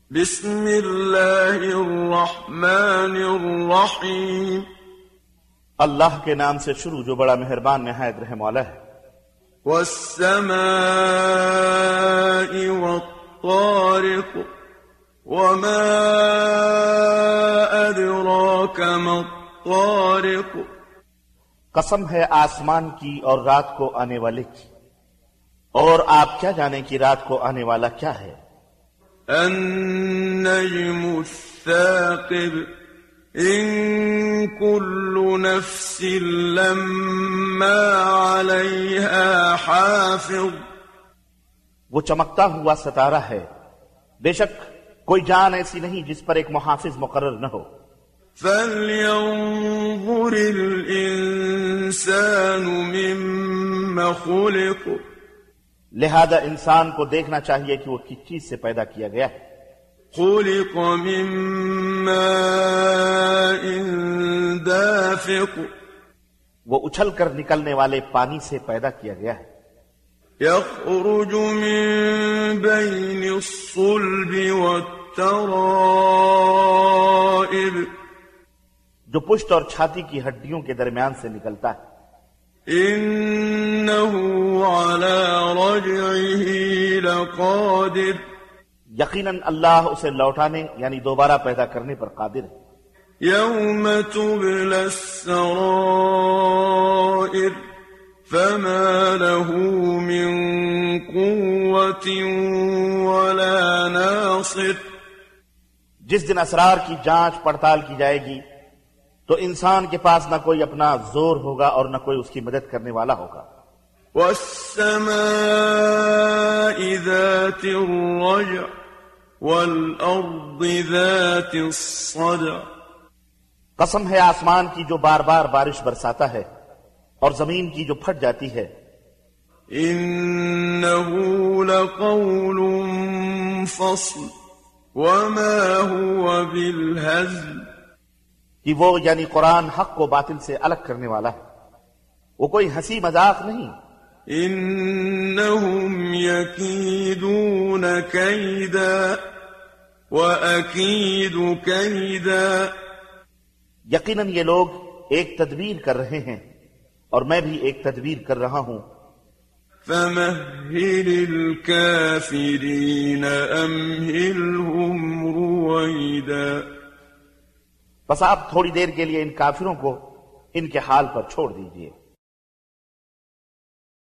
بسم اللہ الرحمن الرحیم اللہ کے نام سے شروع جو بڑا مہربان نہایت رحم والا ہے۔ والسماء والطارق وما أدراك ما الطارق، قسم ہے آسمان کی اور رات کو آنے والے کی، اور آپ کیا جانیں کہ رات کو آنے والا کیا ہے؟ النجم الثاقب إن كل نفس لما عليها حافظ، وہ چمکتا ہوا ستارہ ہے، بے شک کوئی جان ایسی نہیں جس پر ایک محافظ مقرر نہ ہو۔ فلينظر الإنسان مما خلق، لہذا انسان کو دیکھنا چاہیے کہ وہ کس چیز سے پیدا کیا گیا ہے۔ خلق من ماء دافق، وہ اچھل کر نکلنے والے پانی سے پیدا کیا گیا ہے۔ يخرج من بين الصلب والترائب، جو پشت اور چھاتی کی ہڈیوں کے درمیان سے نکلتا ہے۔ إنه على رجعه لقادر، یقیناً اللہ اسے لوٹانے یعنی دوبارہ پیدا کرنے پر قادر ہے۔ يوم تبلى السرائر فما له من قوة ولا ناصر، جس دن اسرار کی جانچ پڑتال کی جائے گی تو انسان کے پاس نہ کوئی اپنا زور ہوگا اور نہ کوئی اس کی مدد کرنے والا ہوگا۔ والسماء ذات الرجع والأرض ذات الصدع، قسم ہے آسمان کی جو بار بار بارش برساتا ہے اور زمین کی جو پھٹ جاتی ہے۔ إنه لقول فصل وما هو بالهزل، کہ وہ یعنی قرآن حق و باطل سے الگ کرنے والا ہے، وہ کوئی ہنسی مذاق نہیں۔ إنهم يكيدون كيدا وأكيد كيدا، یقیناً یہ لوگ ایک تدبیر کر رہے ہیں اور میں بھی ایک تدبیر کر رہا ہوں۔ فمهل الكافرين أمهلهم رويدا، بس آپ تھوڑی دیر کے لیے ان کافروں کو ان کے حال پر چھوڑ دیجئے۔